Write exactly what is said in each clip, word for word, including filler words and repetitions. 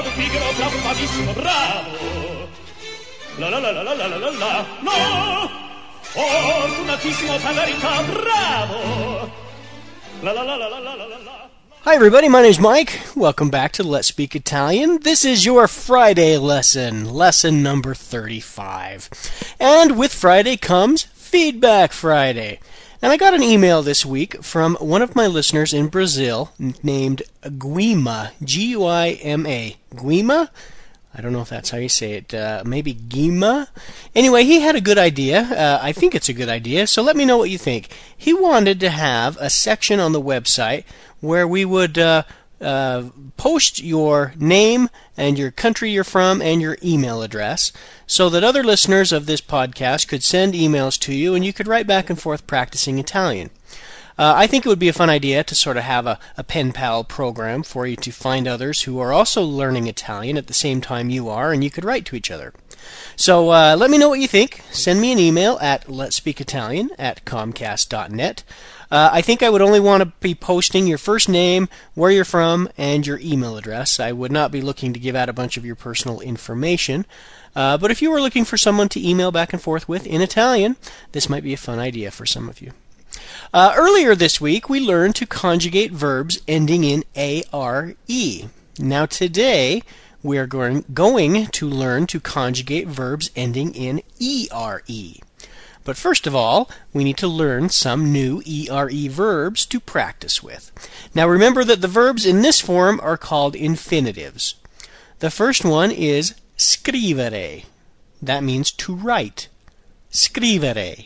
bravo pigro, bravo bravissimo, bravo. La la la la la la la la la. No! Fortunatissimo per verità, bravo. La la la la la la la la. Hi everybody, my name's Mike. Welcome back to Let's Speak Italian. This is your Friday lesson, lesson number thirty-five. And with Friday comes Feedback Friday. And I got an email this week from one of my listeners in Brazil named Guima, G U I M A. Guima? I don't know if that's how you say it. Uh, maybe Guima? Anyway, he had a good idea. Uh, I think it's a good idea, so let me know what you think. He wanted to have a section on the website where we would uh, uh, post your name and your country you're from and your email address so that other listeners of this podcast could send emails to you and you could write back and forth practicing Italian. Uh, I think it would be a fun idea to sort of have a, a pen pal program for you to find others who are also learning Italian at the same time you are, and you could write to each other. So uh, let me know what you think. Send me an email at letspeakitalian at comcast dot net. Uh, I think I would only want to be posting your first name, where you're from, and your email address. I would not be looking to give out a bunch of your personal information. Uh, but if you were looking for someone to email back and forth with in Italian, this might be a fun idea for some of you. Uh, earlier this week, we learned to conjugate verbs ending in A R E. Now today, we are going, going to learn to conjugate verbs ending in E R E. But first of all, we need to learn some new E R E verbs to practice with. Now remember that the verbs in this form are called infinitives. The first one is scrivere. That means to write. Scrivere.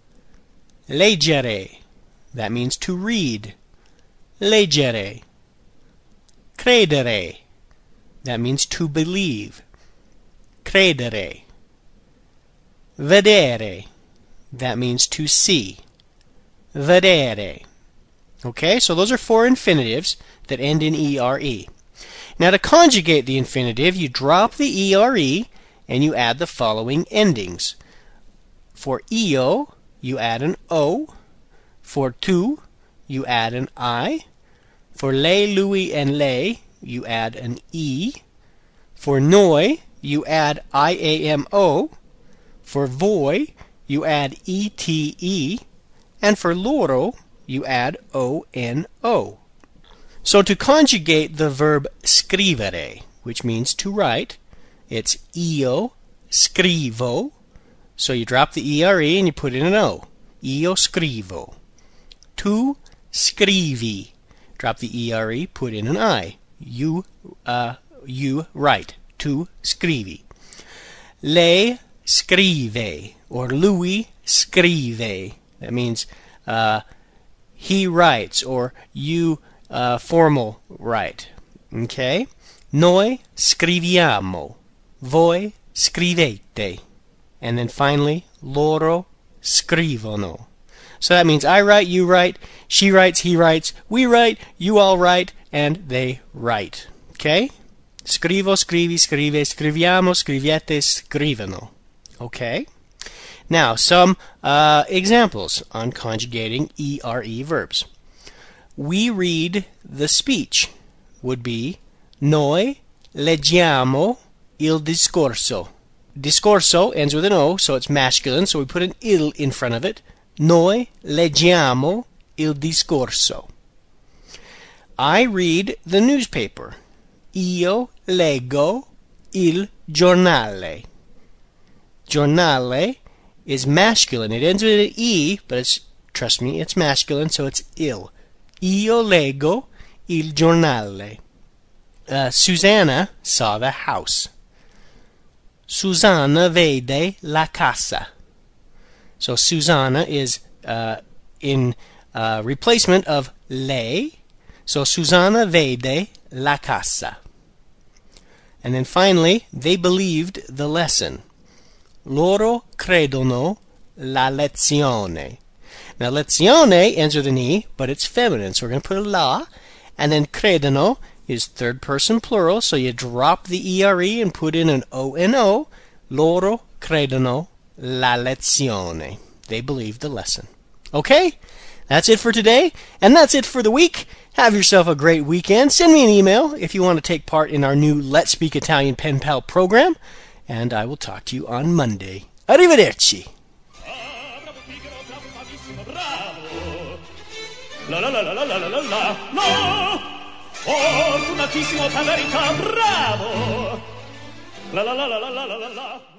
Leggere. That means to read. Leggere. Credere. That means to believe. Credere. Vedere. That means to see. Vedere. Okay, so those are four infinitives that end in E R E. Now to conjugate the infinitive, you drop the E R E and you add the following endings. For io, you add an O. For tu, you add an I. For lei, lui, and lei, you add an E. For noi, you add I A M O. For voi, you add E T E. And for loro, you add O N O. So to conjugate the verb scrivere, which means to write, it's io scrivo. So you drop the E R E and you put in an O. Io scrivo. Tu scrivi. Drop the E R E, put in an I. You, uh, you write. Tu scrivi. Lei scrive, or lui scrive. That means uh, he writes, or you uh, formal write. Okay? Noi scriviamo. Voi scrivete. And then finally, loro scrivono. So that means I write, you write, she writes, he writes, we write, you all write, and they write. Okay? Scrivo, scrivi, scrive, scriviamo, scriviete, scrivono. Okay? Now, some uh, examples on conjugating E R E verbs. We read the speech would be noi leggiamo il discorso. Discorso ends with an O, so it's masculine, so we put an il in front of it. Noi leggiamo il discorso. I read the newspaper. Io leggo il giornale. Giornale is masculine. It ends with an E, but it's, trust me, it's masculine, so it's il. Io leggo il giornale. Uh, Susanna saw the house. Susanna vede la casa. So Susanna is uh, in uh, replacement of lei. So Susanna vede la casa. And then finally, they believed the lesson. Loro credono la lezione. Now lezione ends with an E, but it's feminine, so we're going to put a la. And then credono is third person plural, so you drop the E R E and put in an O N O. Loro credono la lezione. They believe the lesson. Okay? That's it for today, and that's it for the week. Have yourself a great weekend. Send me an email if you want to take part in our new Let's Speak Italian Pen Pal program, and I will talk to you on Monday. Arrivederci. La la la la la la la la la. No! Fortunatissimo Pagarica, bravo! La la la la la la la la la.